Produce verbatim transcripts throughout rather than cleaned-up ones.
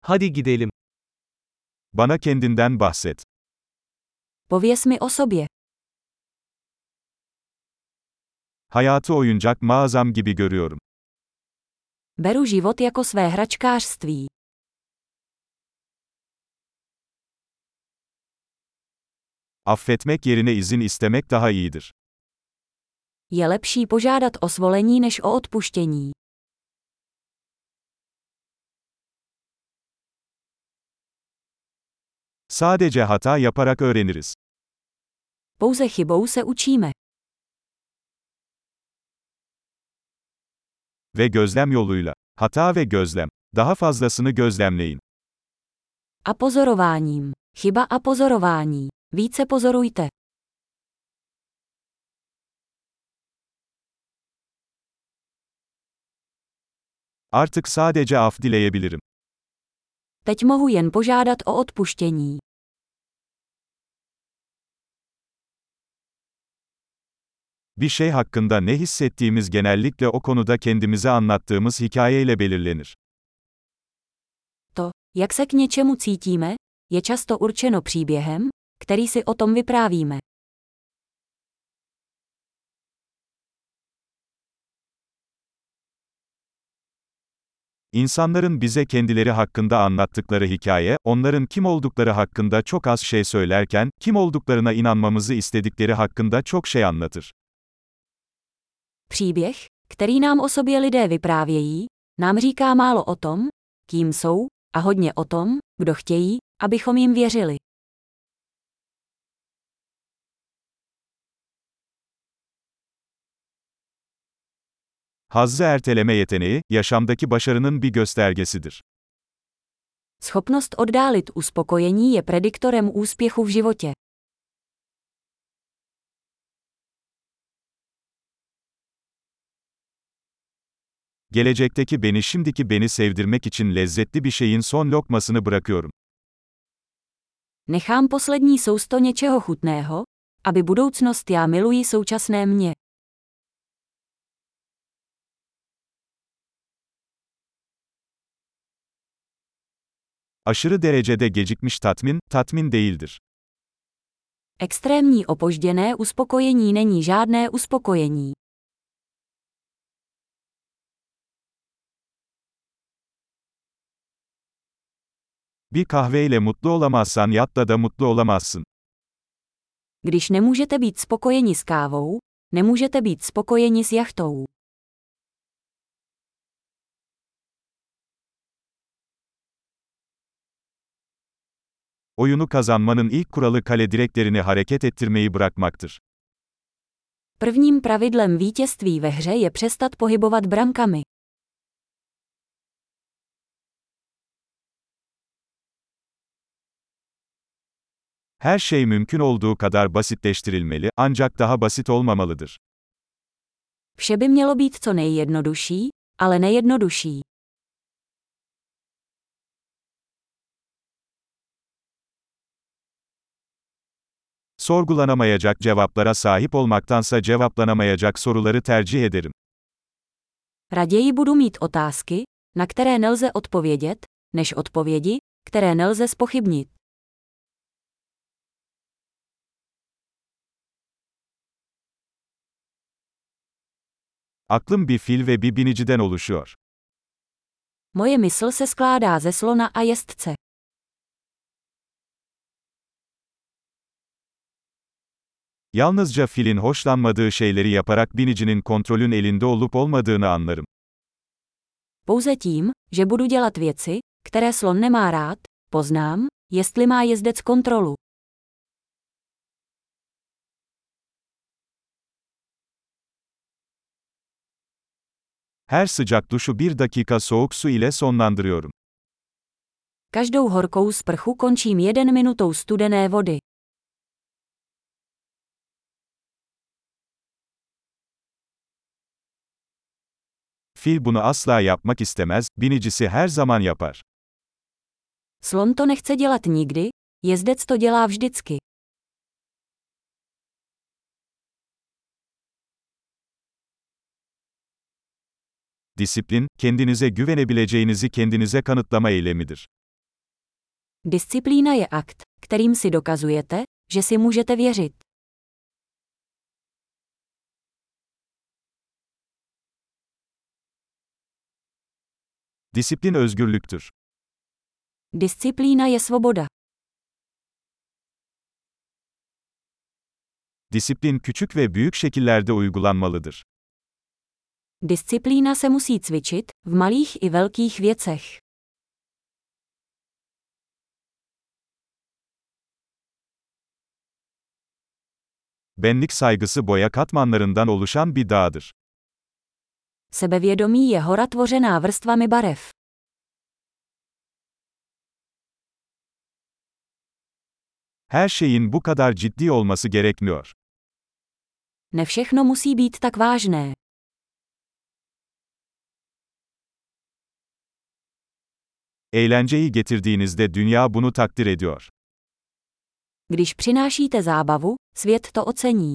Hadi gidelim. Bana kendinden bahset. Pověz mi o sobě. Hayatı oyuncak mağazam gibi görüyorum. Beru život jako své hračkářství. Affetmek yerine izin istemek daha iyidir. Je lepší požádat o svolení než o odpuštění. Sadece hata yaparak öğreniriz. Pouze chybou se učíme. Ve gözlem yoluyla. Hata ve gözlem. Daha fazlasını gözlemleyin. A pozorováním. Chyba a pozorování. Více pozorujte. Artık sadece af dileyebilirim. Teď mohu jen požádat o odpuštění. Bir şey hakkında ne hissettiğimiz genellikle o konuda kendimize anlattığımız hikayeyle belirlenir. To, jak se k něčemu cítíme, je často určeno příběhem, který si o tom vyprávíme. İnsanların bize kendileri hakkında anlattıkları hikaye, onların kim oldukları hakkında çok az şey söylerken, kim olduklarına inanmamızı istedikleri hakkında çok şey anlatır. Příběh, který nám o sobě lidé vyprávějí, nám říká málo o tom, kým jsou, a hodně o tom, kdo chtějí, abychom jim věřili. Hazzı erteleme yeteneği, yaşamdaki başarının bir göstergesidir. Schopnost oddálit uspokojení je prediktorem úspěchu v životě. Gelecekteki beni şimdiki beni sevdirmek için lezzetli bir şeyin son lokmasını bırakıyorum. Nechám poslední sousto něčeho chutného, aby budoucnost já miluji současné mě. Aşırı derecede gecikmiş tatmin, tatmin değildir. Extrémní opožděné uspokojení není žádné uspokojení. Bir kahveyle mutlu olamazsan yatta da mutlu olamazsın. Když nemůžete být spokojeni s kávou, nemůžete být spokojeni s jachtou. Oyunu kazanmanın ilk kuralı kale direklerini hareket ettirmeyi bırakmaktır. Prvním pravidlem vítězství ve hře je přestat pohybovat brankami. Her şey mümkün olduğu kadar basitleştirilmeli, ancak daha basit olmamalıdır. Vše by mělo být co nejjednodušší, ale nejjednodušší. Sorgulanamayacak cevaplara sahip olmaktansa cevaplanamayacak soruları tercih ederim. Raději budu mít otázky, na které nelze odpovědět, než odpovědi, které nelze zpochybnit. Aklım bir fil ve bir biniciden oluşuyor. Moje mysl se skládá ze slona a jezdce. Yalnızca filin hoşlanmadığı şeyleri yaparak binicinin kontrolün elinde olup olmadığını anlarım. Pouze tím, že budu dělat věci, které slon nemá rád, poznám, jestli má jezdec kontrolu. Her sıcak duşu bir dakika soğuk su ile sonlandırıyorum. Každou horkou sprchu končím jeden minutou studené vody. Fil bunu asla yapmak istemez, binicisi her zaman yapar. Slon to nechce dělat nikdy, jezdec to dělá vždycky. Disiplin, kendinize güvenebileceğinizi kendinize kanıtlama eylemidir. Disciplína je akt, kterým si dokazujete, že si můžete věřit. Disiplin özgürlüktür. Disciplína je svoboda. Disiplin küçük ve büyük şekillerde uygulanmalıdır. Disciplína se musí cvičit, v malých i velkých věcech. Benlik saygısı boya katmanlarından oluşan bir dağdır. Sebevědomí je hora tvořená vrstvami barev. Her şeyin bu kadar ciddi olması gerekmiyor. Ne všechno musí být tak vážné. Eğlenceyi getirdiğinizde dünya bunu takdir ediyor. Když přinášíte zábavu, svět to ocení.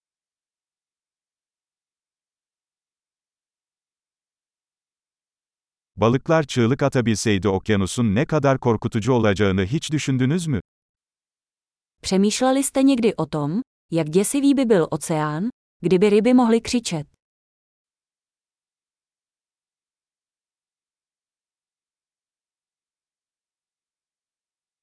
Balıklar çığlık atabilseydi okyanusun ne kadar korkutucu olacağını hiç düşündünüz mü? Přemýšleli jste někdy o tom, jak děsivý by byl oceán, kdyby ryby mohly křičet?